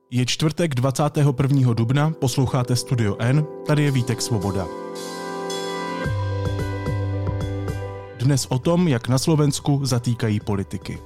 Je čtvrtek 21. dubna, posloucháte Studio N, tady je Vítek Svoboda. Dnes o tom, jak na Slovensku zatýkají politiky.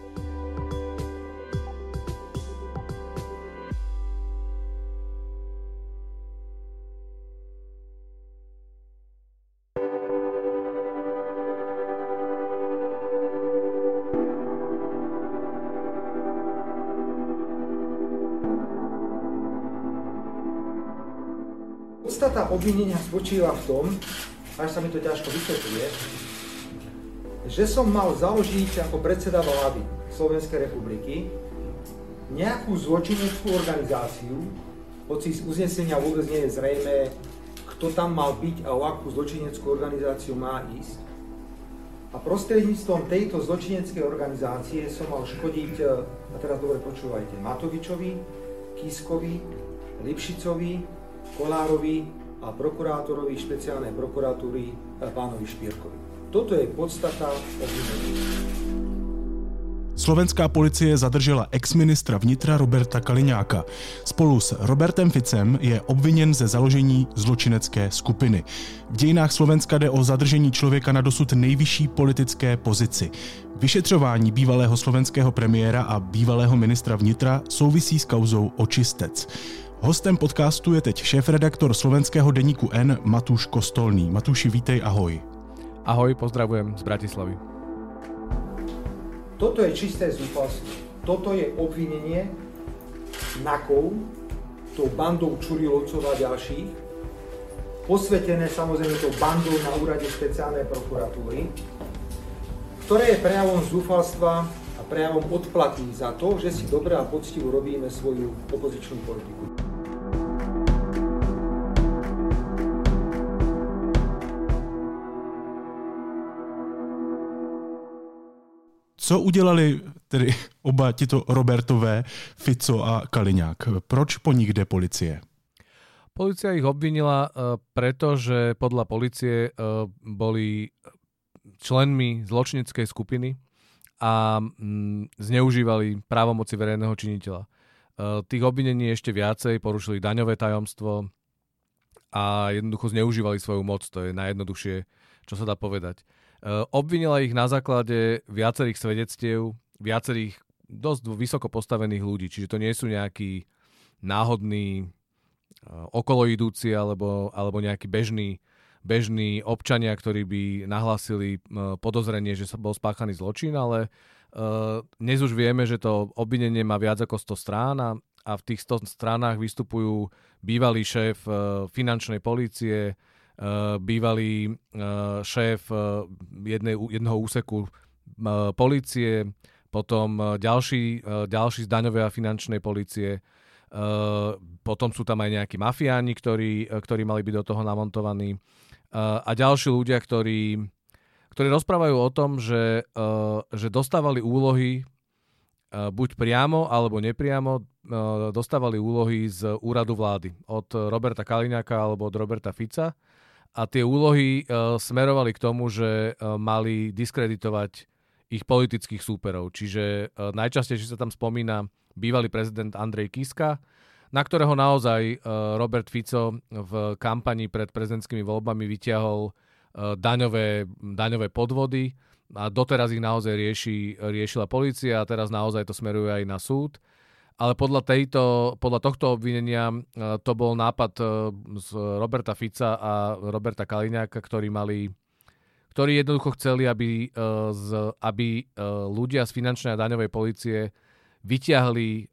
Podstata obvinenia spočíva v tom, až sa mi to ťažko vysvetľuje, že som mal založiť ako predseda vlády Slovenskej republiky nejakú zločineckú organizáciu, hoci z uznesenia vôbec nie je zrejmé, kto tam mal byť a o akú zločineckú organizáciu má ísť. A prostredníctvom tejto zločineckej organizácie som mal škodiť, a teraz dobre počúvajte, Matovičovi, Kiskovi, Lipšicovi, Kolárovi a prokurátorovi špeciálnej prokuratúry pánovi Špírkovi. Toto je podstata obvinenia. Slovenská policie zadržela ex-ministra vnitra Roberta Kaliňáka. Spolu s Robertem Ficem je obviněn ze založení zločinecké skupiny. V dějinách Slovenska jde o zadržení člověka na dosud nejvyšší politické pozici. Vyšetřování bývalého slovenského premiéra a bývalého ministra vnitra souvisí s kauzou Očistec. Hostem podcastu je teď šéfredaktor slovenského deníku N Matúš Kostolný. Matúši, vítej, ahoj. Ahoj, pozdravujem z Bratislavy. Toto je čisté zúfalstvo. Toto je obvinenie NAKov, tou bandou Čurilovcov a ďalších, posvetené samozrejme tou bandou na úrade špeciálnej prokuratúry, ktoré je prejavom zúfalstva a prejavom odplaty za to, že si dobre a poctivo robíme svoju opozičnú politiku. Co udělali tedy oba tito Robertové, Fico a Kaliňák? Proč po nich jde policie? Polícia ich obvinila, pretože podľa polície boli členmi zločineckej skupiny a zneužívali právomoci verejného činiteľa. Tých obvinení ešte viacej, porušili daňové tajomstvo a jednoducho zneužívali svoju moc. To je najjednoduchšie, čo sa dá povedať. Obvinila ich na základe viacerých svedectiev, viacerých dosť vysoko postavených ľudí, čiže to nie sú nejakí náhodní okoloidúci alebo nejakí bežní občania, ktorí by nahlásili podozrenie, že sa bol spáchaný zločin, ale dnes už vieme, že to obvinenie má viac ako 100 strán a v tých 100 stranách vystupujú bývalý šéf finančnej polície, bývalý šéf jedného úseku polície, potom ďalší z daňovej a finančnej polície, potom sú tam aj nejakí mafiáni, ktorí mali byť do toho namontovaní a ďalší ľudia, ktorí rozprávajú o tom, že dostávali úlohy buď priamo alebo nepriamo, dostávali úlohy z úradu vlády od Roberta Kaliňáka alebo od Roberta Fica. A tie úlohy smerovali k tomu, že mali diskreditovať ich politických súperov. Čiže najčastejšie sa tam spomína bývalý prezident Andrej Kiska, na ktorého naozaj Robert Fico v kampani pred prezidentskými voľbami vyťahol daňové podvody a doteraz ich naozaj riešila polícia a teraz naozaj to smeruje aj na súd. Ale podľa tohto obvinenia to bol nápad z Roberta Fica a Roberta Kaliňáka, ktorí jednoducho chceli, aby ľudia z finančnej a daňovej polície vyťahli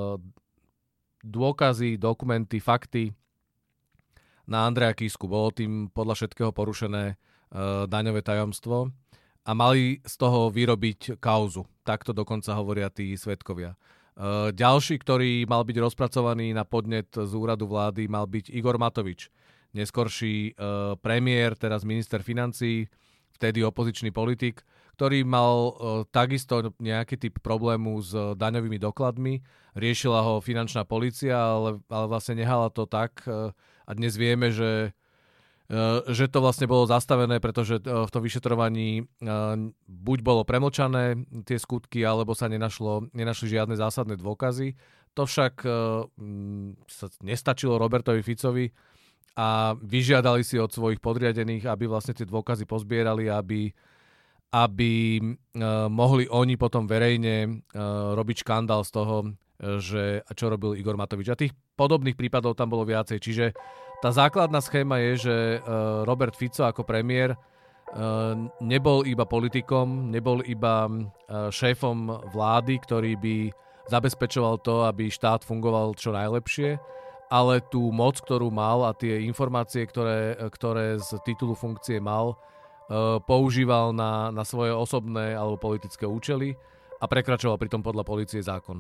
dôkazy, dokumenty, fakty na Andreja Kisku. Bolo tým podľa všetkého porušené daňové tajomstvo a mali z toho vyrobiť kauzu. Takto dokonca hovoria tí svedkovia. Ďalší, ktorý mal byť rozpracovaný na podnet z úradu vlády, mal byť Igor Matovič, neskorší premiér, teraz minister financií, vtedy opozičný politik, ktorý mal takisto nejaký typ problému s daňovými dokladmi. Riešila ho finančná polícia, ale vlastne nehala to tak. A dnes vieme, že to vlastne bolo zastavené, pretože v tom vyšetrovaní buď bolo premlčané tie skutky, alebo sa nenašli žiadne zásadné dôkazy. To však sa nestačilo Robertovi Ficovi a vyžiadali si od svojich podriadených, aby vlastne tie dôkazy pozbierali, aby mohli oni potom verejne robiť škandál z toho, že čo robil Igor Matovič. A tých podobných prípadov tam bolo viacej. Čiže tá základná schéma je, že Robert Fico ako premiér nebol iba politikom, nebol iba šéfom vlády, ktorý by zabezpečoval to, aby štát fungoval čo najlepšie, ale tú moc, ktorú mal a tie informácie, ktoré z titulu funkcie mal, používal na svoje osobné alebo politické účely a prekračoval pritom podľa polície zákon.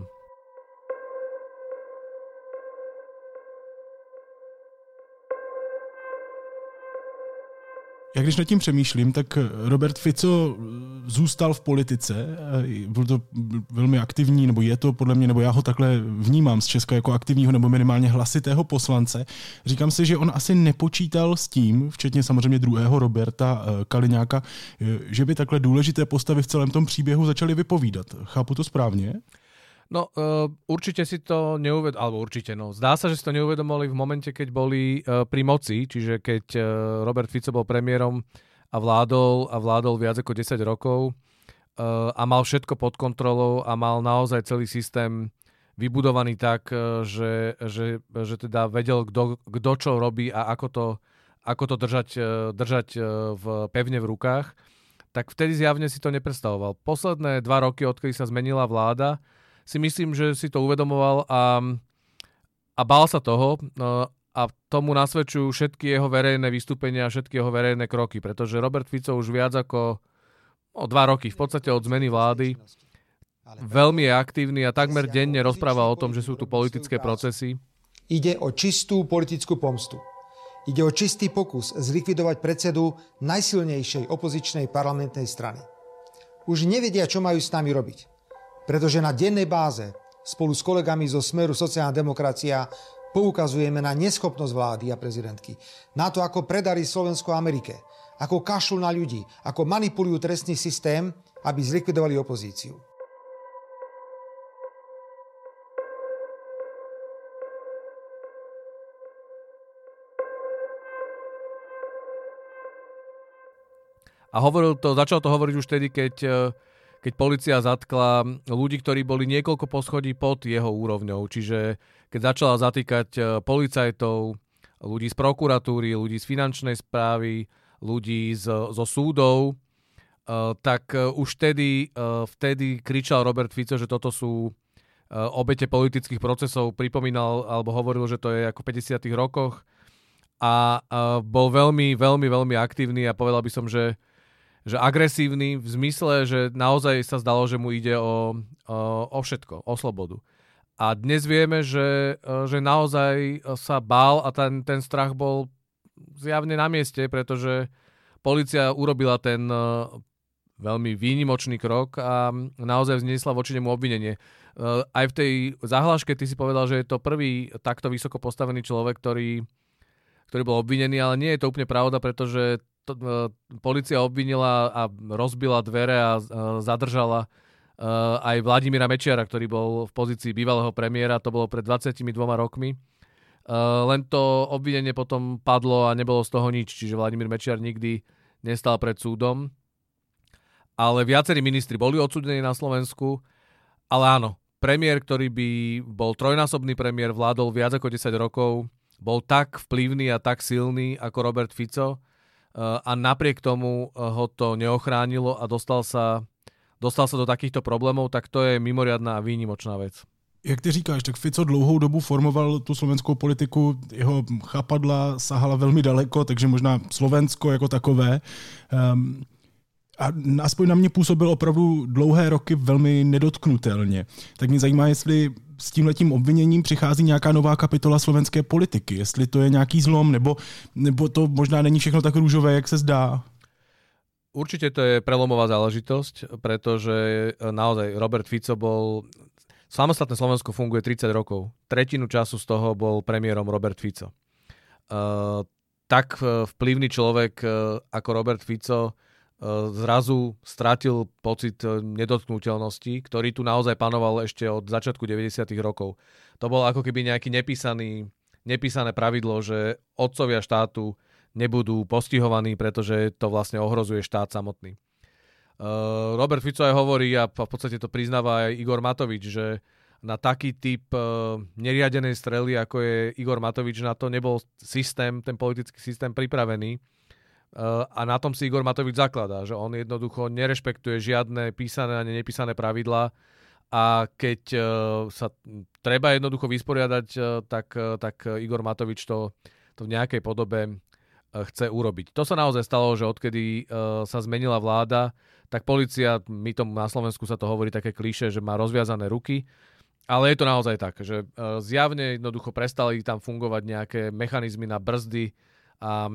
Já když nad tím přemýšlím, tak Robert Fico zůstal v politice, byl to velmi aktivní, nebo je to podle mě, nebo já ho takhle vnímám z Česka jako aktivního nebo minimálně hlasitého poslance. Říkám si, že on asi nepočítal s tím, včetně samozřejmě druhého Roberta Kaliňáka, že by takhle důležité postavy v celém tom příběhu začaly vypovídat. Chápu to správně? No, určite si to zdá sa, že si to neuvedomili v momente, keď boli pri moci, čiže keď Robert Fico bol premiérom a vládol viac ako 10 rokov a mal všetko pod kontrolou a mal naozaj celý systém vybudovaný tak, že teda vedel, kto čo robí a ako to držať pevne v rukách, tak vtedy zjavne si to nepredstavoval. Posledné 2 roky, odkedy sa zmenila vláda, si myslím, že si to uvedomoval a bál sa toho a tomu nasvedčujú všetky jeho verejné vystúpenia a všetky jeho verejné kroky, pretože Robert Fico už viac ako 2 roky, v podstate od zmeny vlády, veľmi je aktívny a takmer denne rozpráva o tom, že sú tu politické procesy. Ide o čistú politickú pomstu. Ide o čistý pokus zlikvidovať predsedu najsilnejšej opozičnej parlamentnej strany. Už nevedia, čo majú s nami robiť. Pretože na dennej báze spolu s kolegami zo Smeru sociálna demokracia poukazujeme na neschopnosť vlády a prezidentky, na to, ako predali Slovensko Amerike, ako kašľú na ľudí, ako manipulujú trestný systém, aby zlikvidovali opozíciu. A začal to hovoriť už vtedy, keď polícia zatkla ľudí, ktorí boli niekoľko poschodí pod jeho úrovňou. Čiže keď začala zatýkať policajtov, ľudí z prokuratúry, ľudí z finančnej správy, ľudí zo súdov, tak už vtedy kričal Robert Fico, že toto sú obete politických procesov. Pripomínal alebo hovoril, že to je ako v 50. rokoch a bol veľmi, veľmi, veľmi aktívny a povedal by som, že agresívny v zmysle, že naozaj sa zdalo, že mu ide o všetko, o slobodu. A dnes vieme, že naozaj sa bál a ten strach bol zjavne na mieste, pretože polícia urobila ten veľmi výnimočný krok a naozaj vzniesla voči nemu obvinenie. Aj v tej zahláške ty si povedal, že je to prvý takto vysoko postavený človek, ktorý bol obvinený, ale nie je to úplne pravda, pretože polícia obvinila a rozbila dvere a zadržala aj Vladimíra Mečiara, ktorý bol v pozícii bývalého premiéra, to bolo pred 22 rokmi. Len to obvinenie potom padlo a nebolo z toho nič, čiže Vladimír Mečiar nikdy nestal pred súdom. Ale viacerí ministri boli odsúdení na Slovensku, ale áno, premiér, ktorý by bol trojnásobný premiér, vládol viac ako 10 rokov, bol tak vplyvný a tak silný ako Robert Fico, a napriek tomu ho to neochránilo a dostal sa do takýchto problémov, tak to je mimoriadná a výnimočná vec. Jak ty říkáš, tak Fico dlouhou dobu formoval tu slovenskou politiku, jeho chápadla sahala velmi daleko, takže možná Slovensko jako takové. A aspoň na mě působil opravdu dlouhé roky velmi nedotknutelně. Tak mě zajímá, jestli s tímhletím obviněním přichází nějaká nová kapitola slovenské politiky, jestli to je nějaký zlom, nebo to možná není všechno tak růžové, jak se zdá. Určite to je prelomová záležitosť, pretože naozaj Robert Fico samostatné Slovensko funguje 30 rokov. Tretinu času z toho bol premiérom Robert Fico. Tak vplyvný človek ako Robert Fico zrazu stratil pocit nedotknuteľnosti, ktorý tu naozaj panoval ešte od začiatku 90. rokov. To bol ako keby nejaký nepísané pravidlo, že otcovia štátu nebudú postihovaní, pretože to vlastne ohrozuje štát samotný. Robert Fico aj hovorí, a v podstate to priznáva aj Igor Matovič, že na taký typ neriadenej strely, ako je Igor Matovič, na to nebol ten politický systém pripravený. A na tom si Igor Matovič zakladá, že on jednoducho nerešpektuje žiadne písané a nepísané pravidlá a keď sa treba jednoducho vysporiadať, tak Igor Matovič to v nejakej podobe chce urobiť. To sa naozaj stalo, že odkedy sa zmenila vláda, tak polícia, my tomu na Slovensku sa to hovorí také klíše, že má rozviazané ruky, ale je to naozaj tak, že zjavne jednoducho prestali tam fungovať nejaké mechanizmy na brzdy a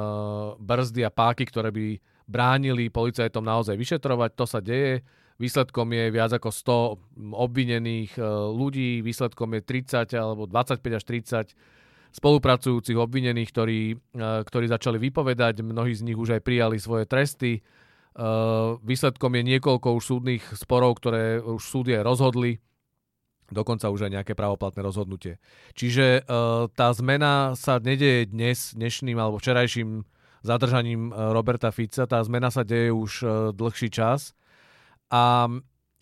páky, ktoré by bránili policajtom naozaj vyšetrovať. To sa deje. Výsledkom je viac ako 100 obvinených ľudí, výsledkom je 30 alebo 25 až 30 spolupracujúcich obvinených, ktorí začali vypovedať. Mnohí z nich už aj prijali svoje tresty. Výsledkom je niekoľko už súdnych sporov, ktoré už súdy rozhodli. Dokonca už aj nejaké právoplatné rozhodnutie. Čiže tá zmena sa nedeje dnešným alebo včerajším zadržaním Roberta Fica. Tá zmena sa deje už dlhší čas. A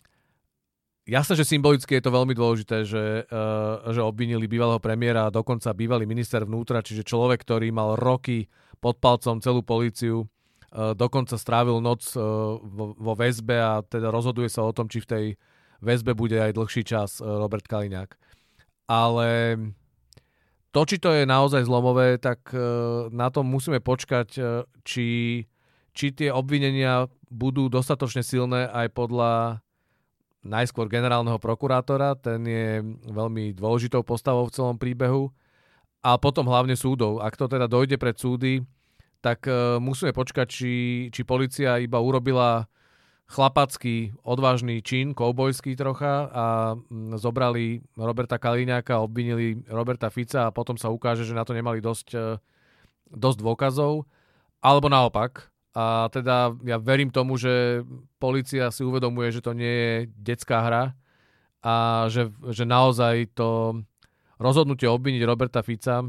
jasné, že symbolicky je to veľmi dôležité, že obvinili bývalého premiéra a dokonca bývalý minister vnútra, čiže človek, ktorý mal roky pod palcom celú políciu, dokonca strávil noc vo väzbe a teda rozhoduje sa o tom, či v tej väzbe bude aj dlhší čas Robert Kaliňák. Ale to, či to je naozaj zlomové, tak na tom musíme počkať, či tie obvinenia budú dostatočne silné aj podľa najskôr generálneho prokurátora, ten je veľmi dôležitou postavou v celom príbehu, a potom hlavne súdov. Ak to teda dojde pred súdy, tak musíme počkať, či polícia iba urobila chlapacký, odvážny čin, koubojský trocha a zobrali Roberta Kaliňáka, obvinili Roberta Fica a potom sa ukáže, že na to nemali dosť dôkazov, alebo naopak. A teda ja verím tomu, že polícia si uvedomuje, že to nie je detská hra a že naozaj to rozhodnutie obviniť Roberta Fica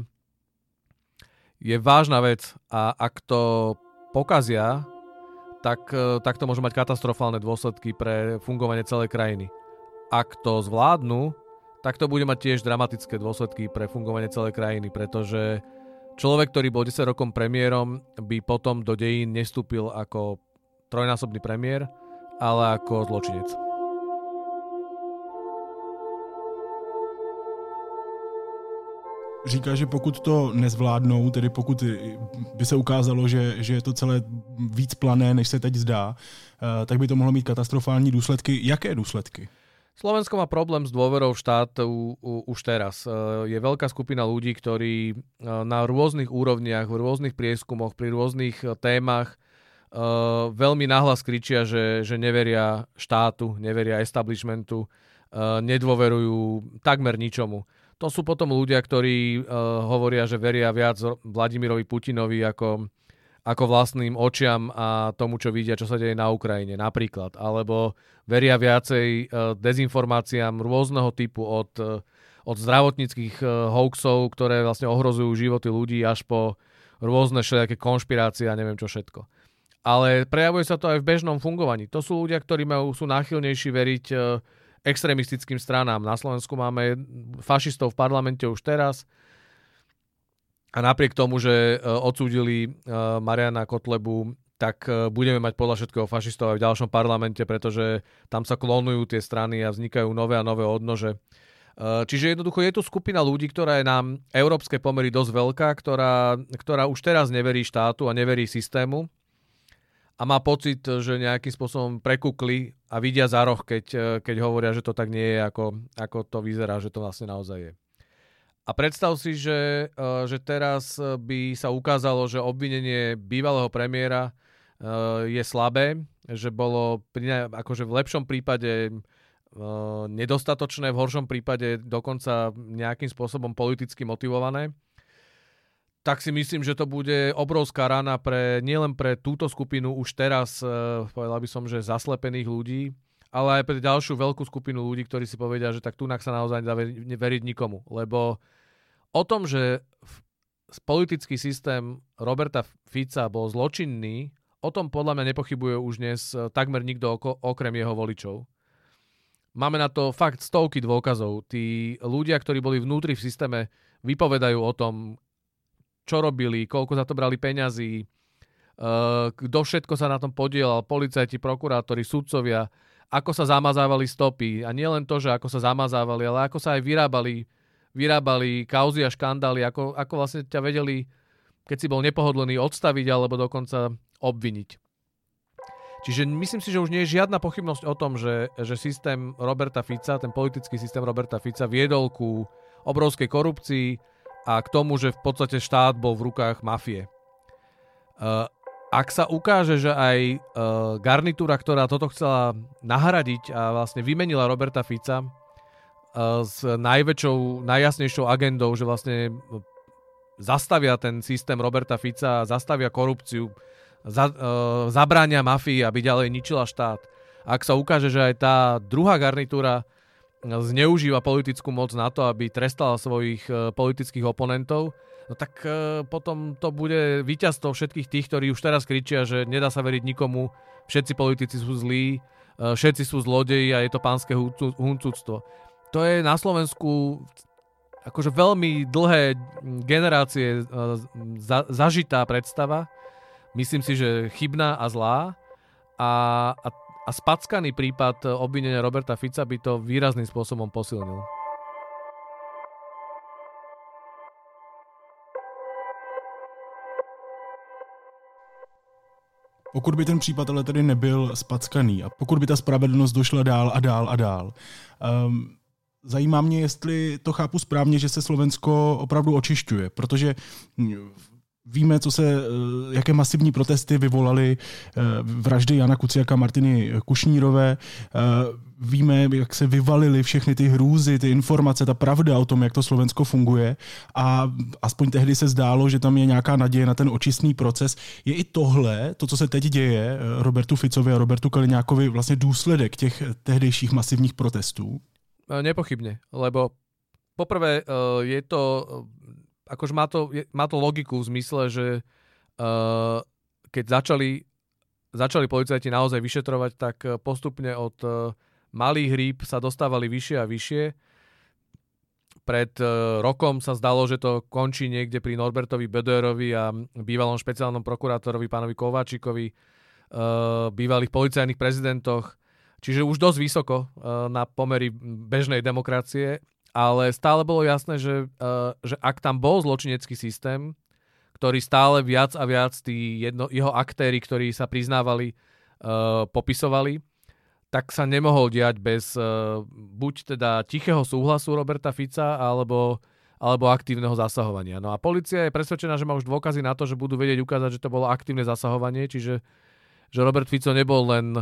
je vážna vec a ak to pokazia, tak to môže mať katastrofálne dôsledky pre fungovanie celej krajiny. Ak to zvládnu, tak to bude mať tiež dramatické dôsledky pre fungovanie celej krajiny, pretože človek, ktorý bol 10 rokom premiérom, by potom do dejín nestúpil ako trojnásobný premiér, ale ako zločinec. Říká, že pokud to nezvládnou, tedy pokud by se ukázalo, že je to celé víc plané, než se teď zdá, tak by to mohlo mít katastrofální důsledky. Jaké důsledky? Slovensko má problém s dôverou v štát už teraz. Je veľká skupina ľudí, ktorí na rôznych úrovniach, v rôznych prieskumoch, pri rôznych témach veľmi nahlas kričia, že neveria štátu, neveria establishmentu, nedôverujú takmer ničomu. To sú potom ľudia, ktorí hovoria, že veria viac Vladimirovi Putinovi ako vlastným očiam a tomu, čo vidia, čo sa deje na Ukrajine napríklad. Alebo veria viacej dezinformáciám rôzneho typu od zdravotníckych hoaxov, ktoré vlastne ohrozujú životy ľudí, až po rôzne všelijaké konšpirácie a neviem čo všetko. Ale prejavuje sa to aj v bežnom fungovaní. To sú ľudia, ktorí sú náchylnejší veriť extrémistickým stranám. Na Slovensku máme fašistov v parlamente už teraz a napriek tomu, že odsúdili Mariana Kotlebu, tak budeme mať podľa všetkého fašistov aj v ďalšom parlamente, pretože tam sa klonujú tie strany a vznikajú nové a nové odnože. Čiže jednoducho je tu skupina ľudí, ktorá je na európske pomery dosť veľká, ktorá už teraz neverí štátu a neverí systému a má pocit, že nejakým spôsobom prekukli a vidia za roh, keď hovoria, že to tak nie je, ako to vyzerá, že to vlastne naozaj je. A predstav si, že teraz by sa ukázalo, že obvinenie bývalého premiéra je slabé, že bolo akože v lepšom prípade nedostatočné, v horšom prípade dokonca nejakým spôsobom politicky motivované. tak si myslím, že to bude obrovská rana nielen pre túto skupinu už teraz, povedal by som, že zaslepených ľudí, ale aj pre ďalšiu veľkú skupinu ľudí, ktorí si povedia, že tak tunak sa naozaj nedá veriť nikomu. Lebo o tom, že politický systém Roberta Fica bol zločinný, o tom podľa mňa nepochybuje už dnes takmer nikto okrem jeho voličov. Máme na to fakt stovky dôkazov. Tí ľudia, ktorí boli vnútri v systéme, vypovedajú o tom, čo robili, koľko za to brali peňazí, kto všetko sa na tom podielal, policajti, prokurátori, sudcovia, ako sa zamazávali stopy. A nie len to, že ako sa zamazávali, ale ako sa aj vyrábali kauzy a škandály, ako vlastne ťa vedeli, keď si bol nepohodlný, odstaviť alebo dokonca obviniť. Čiže myslím si, že už nie je žiadna pochybnosť o tom, že systém Roberta Fica, ten politický systém Roberta Fica viedol ku obrovskej korupcii a k tomu, že v podstate štát bol v rukách mafie. Ak sa ukáže, že aj garnitúra, ktorá toto chcela nahradiť a vlastne vymenila Roberta Fica s najväčšou, najjasnejšou agendou, že vlastne zastavia ten systém Roberta Fica, zastavia korupciu, zabránia mafii, aby ďalej ničila štát. Ak sa ukáže, že aj tá druhá garnitúra zneužíva politickú moc na to, aby trestala svojich politických oponentov, no tak potom to bude víťazstvo všetkých tých, ktorí už teraz kričia, že nedá sa veriť nikomu, všetci politici sú zlí, všetci sú zlodeji a je to pánske huncúctvo. To je na Slovensku akože veľmi dlhé generácie zažitá predstava. Myslím si, že chybná a zlá. A spackaný prípad obvinenia Roberta Fica by to výrazným spôsobom posilnil. Pokud by ten případ ale tedy nebyl spackaný a pokud by ta spravedlnost došla dál a dál a dál, zajímá mě, jestli to chápu správně, že se Slovensko opravdu očišťuje, protože víme, jaké masivní protesty vyvolaly vraždy Jana Kuciaka a Martiny Kušnírové. Víme, jak se vyvalily všechny ty hrůzy, ty informace, ta pravda o tom, jak to Slovensko funguje. A aspoň tehdy se zdálo, že tam je nějaká naděje na ten očistný proces. Je i tohle, to, co se teď děje Robertu Ficovi a Robertu Kaliňákovi, vlastně důsledek těch tehdejších masivních protestů? Nepochybne, lebo poprvé je to... Akože má to logiku v zmysle, že keď začali policajti naozaj vyšetrovať, tak postupne od malých rýb sa dostávali vyššie a vyššie. Pred rokom sa zdalo, že to končí niekde pri Norbertovi Böderovi a bývalom špeciálnom prokurátorovi pánovi Kováčikovi, bývalých policajných prezidentoch. Čiže už dosť vysoko na pomery bežnej demokracie. Ale stále bolo jasné, že ak tam bol zločinecký systém, ktorý stále viac a viac jeho aktéri, ktorí sa priznávali, popisovali, tak sa nemohol diať bez buď teda tichého súhlasu Roberta Fica, alebo aktívneho zasahovania. No a polícia je presvedčená, že má už dôkazy na to, že budú vedieť ukázať, že to bolo aktívne zasahovanie, čiže že Robert Fico nebol len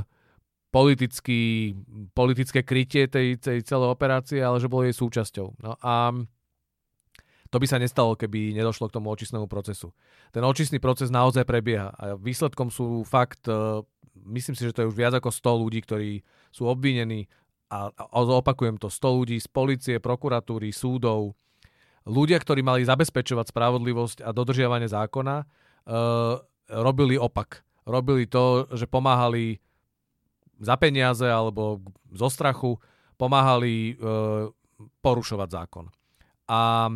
politické krytie tej celej operácie, ale že bolo jej súčasťou. No a to by sa nestalo, keby nedošlo k tomu očistnému procesu. Ten očistný proces naozaj prebieha a výsledkom sú fakt, myslím si, že to je už viac ako 100 ľudí, ktorí sú obvinení a opakujem to, 100 ľudí z polície, prokuratúry, súdov, ľudia, ktorí mali zabezpečovať spravodlivosť a dodržiavanie zákona, robili opak. Robili to, že pomáhali za peniaze alebo zo strachu, pomáhali porušovať zákon. A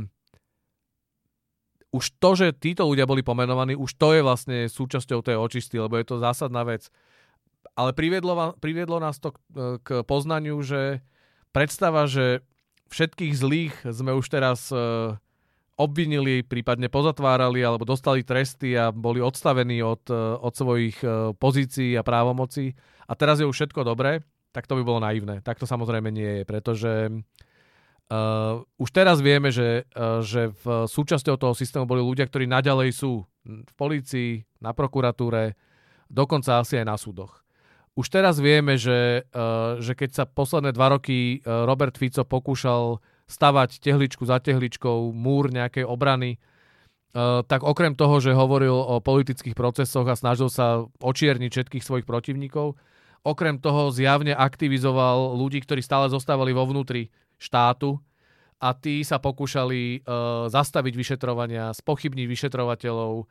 už to, že títo ľudia boli pomenovaní, už to je vlastne súčasťou tej očisty, lebo je to zásadná vec. Ale priviedlo nás to k poznaniu, že predstava, že všetkých zlých sme už teraz obvinili, prípadne pozatvárali alebo dostali tresty a boli odstavení od svojich pozícií a právomocí a teraz je už všetko dobré, tak to by bolo naivné. Tak to samozrejme nie je, pretože už teraz vieme, že v súčasťou toho systému boli ľudia, ktorí naďalej sú v polícii, na prokuratúre, dokonca asi aj na súdoch. Už teraz vieme, že keď sa posledné 2 roky Robert Fico pokúšal stavať tehličku za tehličkou, múr nejakej obrany tak okrem toho, že hovoril o politických procesoch a snažil sa očierniť všetkých svojich protivníkov, okrem toho zjavne aktivizoval ľudí, ktorí stále zostávali vo vnútri štátu a tí sa pokúšali zastaviť vyšetrovania, spochybniť vyšetrovateľov,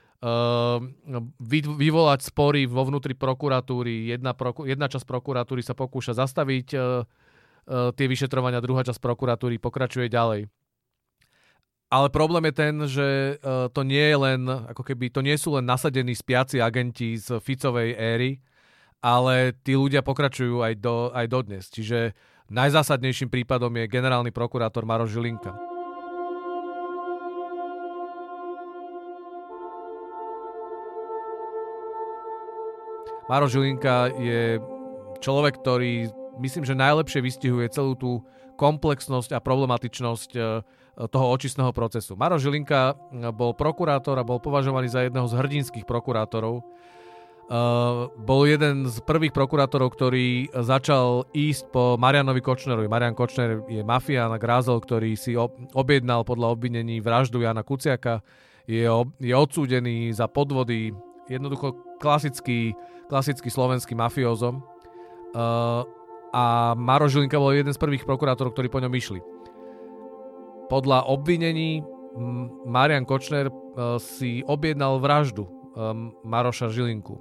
vyvolať spory vo vnútri prokuratúry. Jedna časť prokuratúry sa pokúša zastaviť tie vyšetrovania, druhá časť prokuratúry pokračuje ďalej. Ale problém je ten, že to nie je len, ako keby, to nie sú len nasadení spiaci agenti z Ficovej éry, ale tí ľudia pokračujú aj dodnes. Čiže najzásadnejším prípadom je generálny prokurátor Maroš Žilinka. Maroš Žilinka je človek, ktorý myslím, že najlepšie vystihuje celú tú komplexnosť a problematičnosť toho očistného procesu. Maroš Žilinka bol prokurátor a bol považovaný za jedného z hrdinských prokurátorov. Bol jeden z prvých prokurátorov, ktorý začal ísť po Marianovi Kočnerovi. Marian Kočner je mafián a grázel, ktorý si objednal podľa obvinení vraždu Jana Kuciaka. Je odsúdený za podvody. Jednoducho klasický slovenský mafiózom. A Maroš Žilinka bol jeden z prvých prokurátorov, ktorí po ňom išli. Podľa obvinení Marian Kočner si objednal vraždu Maroša Žilinku.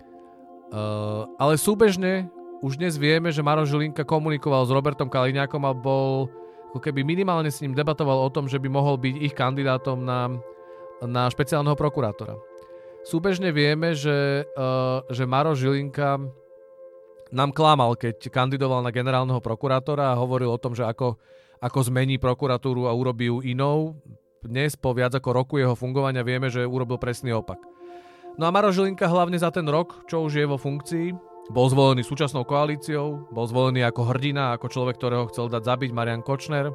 Ale súbežne už dnes vieme, že Maroš Žilinka komunikoval s Robertom Kaliňákom a bol, ako keby minimálne s ním debatoval o tom, že by mohol byť ich kandidátom na špeciálneho prokurátora. Súbežne vieme, že Maroš Žilinka nám klamal, keď kandidoval na generálneho prokurátora a hovoril o tom, že ako zmení prokuratúru a urobí ju inou. Dnes, po viac ako roku jeho fungovania, vieme, že urobil presný opak. No a Maroš Žilinka hlavne za ten rok, čo už je vo funkcii, bol zvolený súčasnou koalíciou, bol zvolený ako hrdina, ako človek, ktorého chcel dať zabiť Marian Kočner.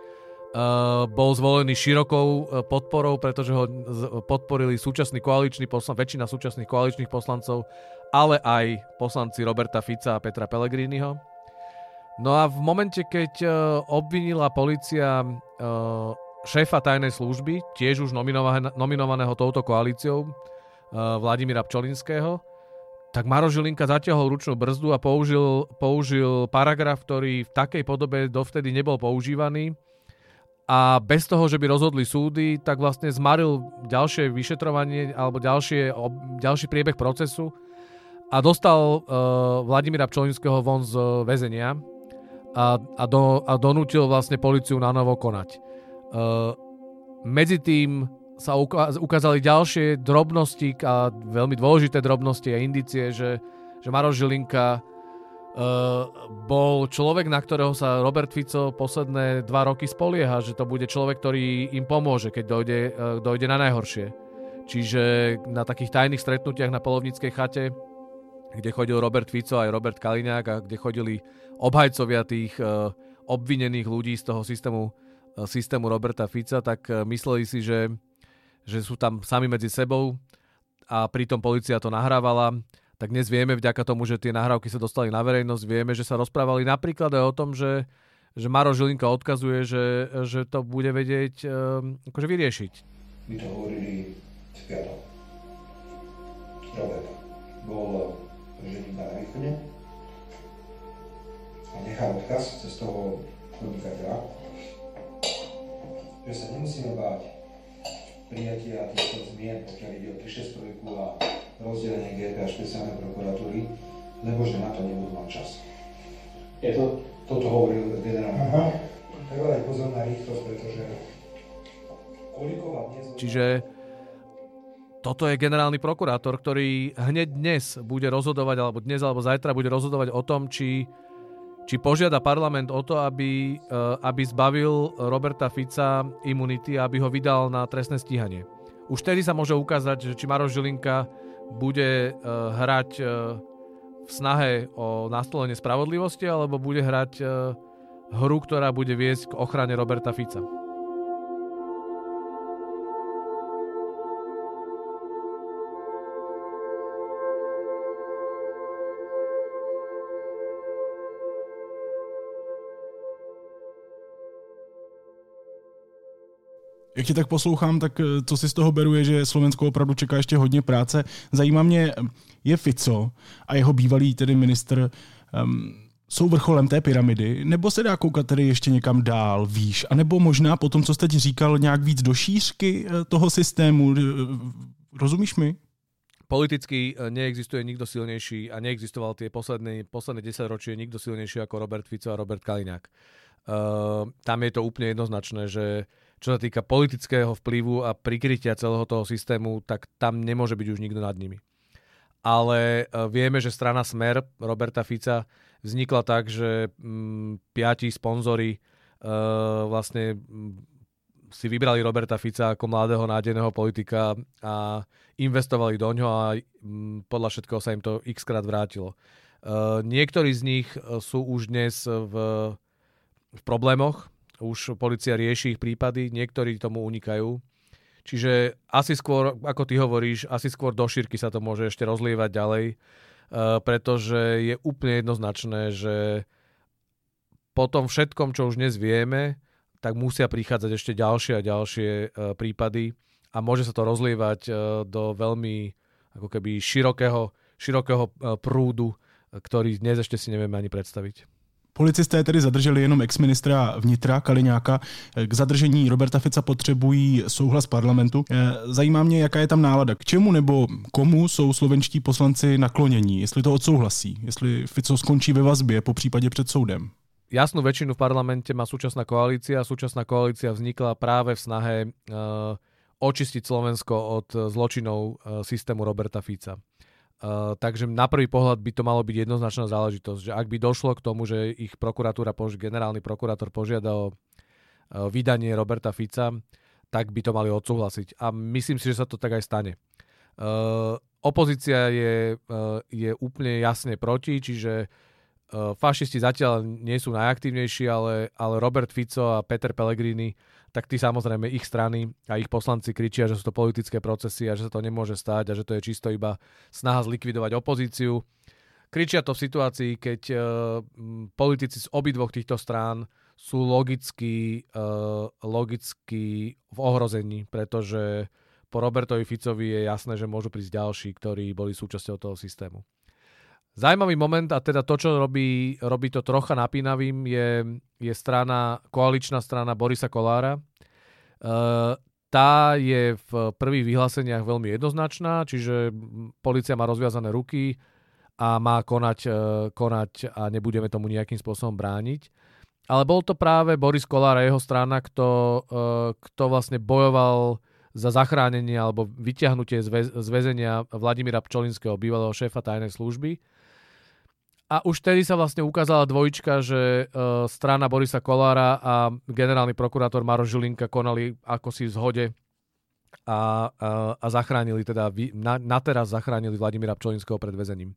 Bol zvolený širokou podporou, pretože ho podporili väčšina súčasných koaličných poslancov, ale aj poslanci Roberta Fica a Petra Pellegriniho. No a v momente, keď obvinila polícia šéfa tajnej služby, tiež už nominovaného touto koalíciou, Vladimíra Pčolinského, tak Maroš Žilinka zatiahol ručnú brzdu a použil paragraf, ktorý v takej podobe dovtedy nebol používaný, a bez toho, že by rozhodli súdy, tak vlastne zmaril ďalšie vyšetrovanie alebo ďalší priebeh procesu a dostal Vladimíra Pčolinského von z väzenia a donútil vlastne políciu na novo konať. Medzi tým sa ukázali ďalšie drobnosti a veľmi dôležité drobnosti a indície, že Maroš Žilinka bol človek, na ktorého sa Robert Fico posledné 2 roky spolieha, že to bude človek, ktorý im pomôže, keď dojde na najhoršie. Čiže na takých tajných stretnutiach na Polovníckej chate, kde chodil Robert Fico aj Robert Kaliňák a kde chodili obhajcovia tých obvinených ľudí z toho systému Roberta Fica, tak mysleli si, že sú tam sami medzi sebou a pritom polícia to nahrávala. Tak dnes vieme, vďaka tomu, že tie nahrávky sa dostali na verejnosť, vieme, že sa rozprávali napríklad aj o tom, že Maroš Žilinka odkazuje, že to bude vedieť akože vyriešiť. My to hovorili v piatok. Robert bol prežením na východe a nechal odkaz cez toho podnikateľa, že sa nemusíme báť prijatia týchto zmien, pokiaľ ide o 363 a rozdelenie GP a špeciálnej prokuratúry, lebo že na to nebudú mať čas. Toto hovoril generálny. Treba dať pozor na rýchlosť, pretože Čiže toto je generálny prokurátor, ktorý hneď dnes bude rozhodovať, alebo dnes alebo zajtra bude rozhodovať o tom, či požiada parlament o to, aby zbavil Roberta Fica imunity a aby ho vydal na trestné stíhanie. Už vtedy sa môže ukázať, že či Maroš Žilinka bude hrať v snahe o nastolenie spravodlivosti, alebo bude hrať hru, ktorá bude viesť k ochrane Roberta Fica. Jak tě tak poslouchám, tak co si z toho beru je, že Slovensko opravdu čeká ještě hodně práce. Zajímá mě, je Fico a jeho bývalý tedy ministr jsou vrcholem té pyramidy, nebo se dá koukat tedy ještě někam dál, výš, anebo možná po tom, co jste teď říkal, nějak víc do šířky toho systému. Rozumíš mi? Politicky neexistuje nikto silnejší a neexistoval tie posledné 10 ročie nikto silnejší ako Robert Fico a Robert Kaliňák. Tam je to úplne jednoznačné, že čo sa týka politického vplyvu a prikrytia celého toho systému, tak tam nemôže byť už nikto nad nimi. Ale vieme, že strana Smer Roberta Fica vznikla tak, že 5 sponzori vlastne si vybrali Roberta Fica ako mladého nádejného politika a investovali do ňoho a podľa všetkého sa im to x-krát vrátilo. Niektorí z nich sú už dnes v problémoch, už polícia rieši ich prípady, niektorí tomu unikajú. Čiže asi skôr, ako ty hovoríš, asi skôr do šírky sa to môže ešte rozlievať ďalej, pretože je úplne jednoznačné, že po tom všetkom, čo už dnes vieme, tak musia prichádzať ešte ďalšie a ďalšie prípady a môže sa to rozlievať do veľmi ako keby širokého prúdu, ktorý dnes ešte si nevieme ani predstaviť. Policisté tedy zadrželi jenom exministra vnitra Kaliňáka. K zadržení Roberta Fica potřebují souhlas parlamentu. Zajímá mě, jaká je tam nálada. K čemu nebo komu jsou slovenští poslanci naklonění? Jestli to odsouhlasí? Jestli Fico skončí ve vazbě, po případě před soudem? Jasnú väčšinu v parlamente má súčasná koalícia. Súčasná koalícia vznikla práve v snahe očistiť Slovensko od zločinov systému Roberta Fica. Takže na prvý pohľad by to malo byť jednoznačná záležitosť, že ak by došlo k tomu, že ich generálny prokurátor požiada o vydanie Roberta Fica, tak by to mali odsúhlasiť. A myslím si, že sa to tak aj stane. Opozícia je úplne jasne proti, čiže fašisti zatiaľ nie sú najaktívnejší, ale Robert Fico a Peter Pellegrini, tak tí samozrejme ich strany a ich poslanci kričia, že sú to politické procesy a že sa to nemôže stať a že to je čisto iba snaha zlikvidovať opozíciu. Kričia to v situácii, keď politici z obidvoch týchto strán sú logicky v ohrození, pretože po Robertovi Ficovi je jasné, že môžu prísť ďalší, ktorí boli súčasťou toho systému. Zaujímavý moment, a teda to, čo robí to trocha napínavým, je koaličná strana Borisa Kollára. Tá je v prvých vyhláseniach veľmi jednoznačná, čiže polícia má rozviazané ruky a má konať a nebudeme tomu nejakým spôsobom brániť. Ale bol to práve Boris Kollár a jeho strana, kto vlastne bojoval za zachránenie alebo vyťahnutie z väzenia Vladimíra Pčolinského, bývalého šéfa tajnej služby. A už vtedy sa vlastne ukázala dvojička, že strana Borisa Kollára a generálny prokurátor Maroš Žilinka konali ako si v zhode a zachránili teda, na teraz zachránili Vladimíra Pčolinského pred väzením.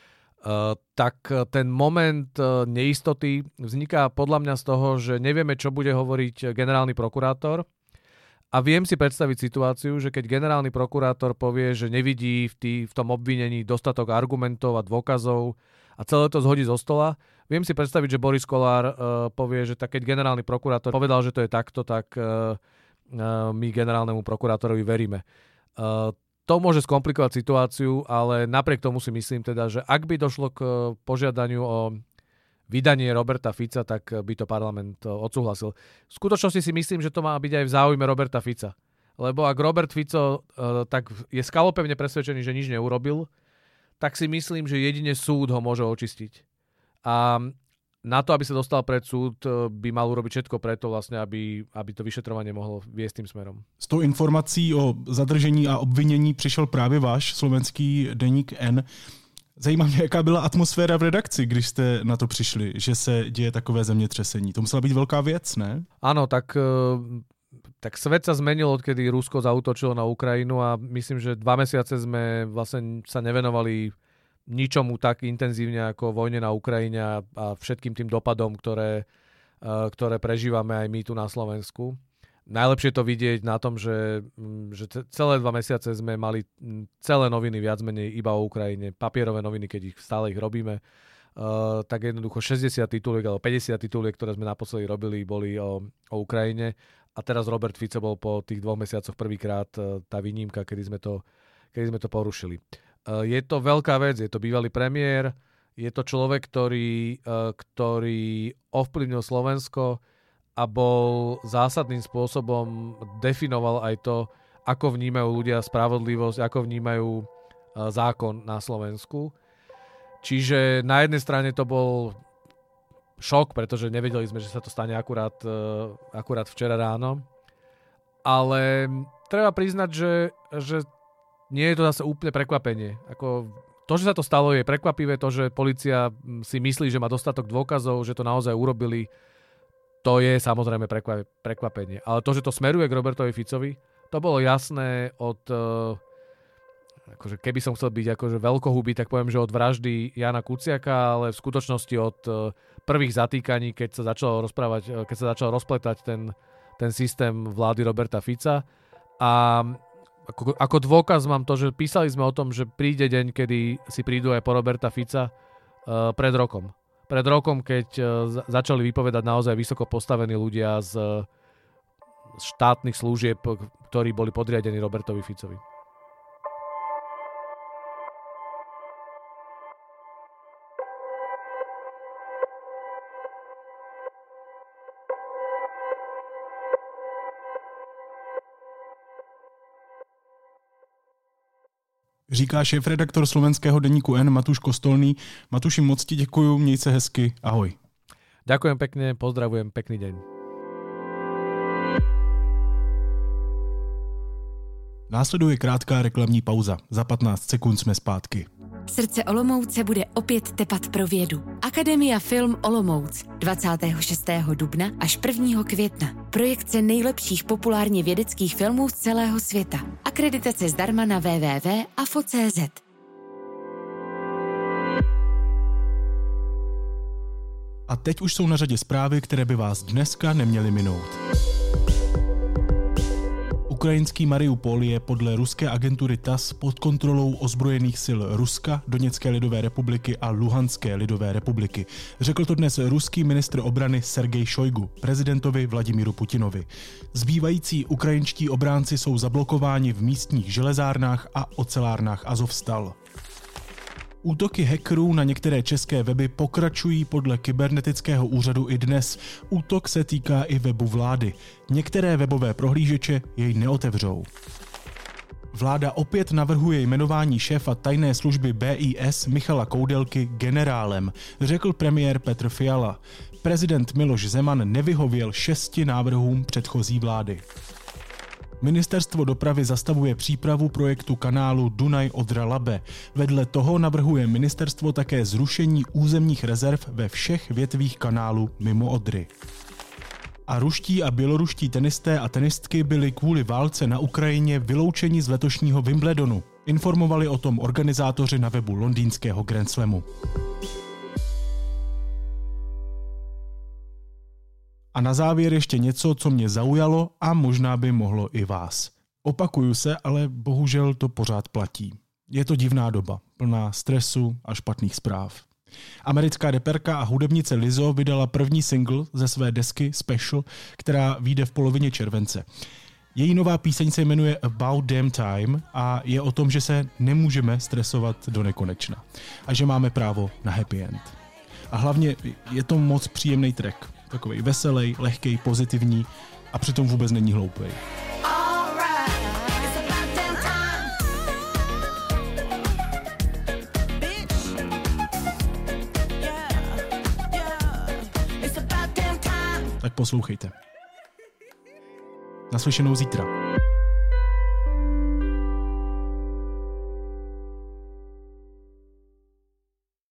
Tak ten moment neistoty vzniká podľa mňa z toho, že nevieme, čo bude hovoriť generálny prokurátor. A viem si predstaviť situáciu, že keď generálny prokurátor povie, že nevidí v tom obvinení dostatok argumentov a dôkazov a celé to zhodí zo stola, viem si predstaviť, že Boris Kollár povie, že keď generálny prokurátor povedal, že to je takto, tak my generálnemu prokurátorovi veríme. To môže skomplikovať situáciu, ale napriek tomu si myslím teda, že ak by došlo k požiadaniu o vydanie Roberta Fica, tak by to parlament odsúhlasil. V skutočnosti si myslím, že to má byť aj v záujme Roberta Fica. Lebo ak Robert Fico tak je skalopevne presvedčený, že nič neurobil, tak si myslím, že jedine súd ho môže očistiť. A na to, aby sa dostal pred súd, by mal urobiť všetko preto, vlastne, aby to vyšetrovanie mohlo viesť tým smerom. S tou informací o zadržení a obvinění přišel právě váš slovenský deník N. Zajímá mě, jaká byla atmosféra v redakci, když jste na to přišli, že se děje takové zemětřesení. To musela být velká věc, ne? Áno, tak svet sa zmenil, odkedy Rusko zaútočilo na Ukrajinu a myslím, že 2 mesiace sme vlastne sa nevenovali ničomu tak intenzívne ako vojne na Ukrajine a všetkým tým dopadom, ktoré prežívame aj my tu na Slovensku. Najlepšie to vidieť na tom, že celé 2 mesiace sme mali celé noviny viac menej iba o Ukrajine, papierové noviny, keď stále ich robíme. Tak jednoducho 60 tituliek alebo 50 tituliek, ktoré sme naposledy robili, boli o Ukrajine a teraz Robert Fico bol po tých 2 mesiacoch prvýkrát tá výnimka, kedy sme to porušili. Je to veľká vec, je to bývalý premiér, je to človek, ktorý ovplyvnil Slovensko a bol zásadným spôsobom definoval aj to, ako vnímajú ľudia spravodlivosť, ako vnímajú zákon na Slovensku. Čiže na jednej strane to bol šok, pretože nevedeli sme, že sa to stane akurát včera ráno. Ale treba priznať, že nie je to zase úplne prekvapenie. To, že sa to stalo, je prekvapivé. To, že polícia si myslí, že má dostatok dôkazov, že to naozaj urobili, to je samozrejme prekvapenie. Ale to, že to smeruje k Robertovi Ficovi, to bolo jasné od... Akože keby som chcel byť akože veľkohubý, tak poviem, že od vraždy Jana Kuciaka, ale v skutočnosti od prvých zatýkaní, keď sa začal rozpletať ten systém vlády Roberta Fica. A ako dôkaz mám to, že písali sme o tom, že príde deň, kedy si prídu aj po Roberta Fica pred rokom. Pred rokom, keď začali vypovedať naozaj vysoko postavení ľudia z štátnych služieb, ktorí boli podriadení Robertovi Ficovi. Říká šéfredaktor slovenského denníku N Matúš Kostolný. Matúši, moc ti děkuju, měj se hezky, ahoj. Ďakujem pekne, pozdravujem, pekný deň. Následuje krátká reklamní pauza. Za 15 sekund jsme zpátky. Srdce Olomouce bude opět tepat pro vědu. Akademia Film Olomouc 26. dubna až 1. května. Projekce nejlepších populárně vědeckých filmů z celého světa. Akreditace zdarma na www.afo.cz. A teď už jsou na řadě zprávy, které by vás dneska neměly minout. Ukrajinský Mariupol je podle ruské agentury TASS pod kontrolou ozbrojených sil Ruska, Doněcké lidové republiky a Luhanské lidové republiky. Řekl to dnes ruský ministr obrany Sergej Šojgu prezidentovi Vladimíru Putinovi. Zbývající ukrajinští obránci jsou zablokováni v místních železárnách a ocelárnách Azovstal. Útoky hackerů na některé české weby pokračují podle kybernetického úřadu i dnes. Útok se týká i webu vlády. Některé webové prohlížeče jej neotevřou. Vláda opět navrhuje jmenování šéfa tajné služby BIS Michala Koudelky generálem, řekl premiér Petr Fiala. Prezident Miloš Zeman nevyhověl 6 návrhům předchozí vlády. Ministerstvo dopravy zastavuje přípravu projektu kanálu Dunaj-Odra-Labe. Vedle toho navrhuje ministerstvo také zrušení územních rezerv ve všech větvích kanálu mimo Odry. A ruští a běloruští tenisté a tenistky byli kvůli válce na Ukrajině vyloučeni z letošního Wimbledonu. Informovali o tom organizátoři na webu londýnského Grand Slamu. A na závěr ještě něco, co mě zaujalo a možná by mohlo i vás. Opakuju se, ale bohužel to pořád platí. Je to divná doba, plná stresu a špatných zpráv. Americká reperka a hudebnice Lizzo vydala první single ze své desky Special, která vyjde v polovině července. Její nová píseň se jmenuje About Damn Time a je o tom, že se nemůžeme stresovat do nekonečna a že máme právo na happy end. A hlavně je to moc příjemný track. Takovej veselý, lehkej, pozitivní a přitom vůbec není hloupej. Tak poslouchejte. Naslyšenou zítra.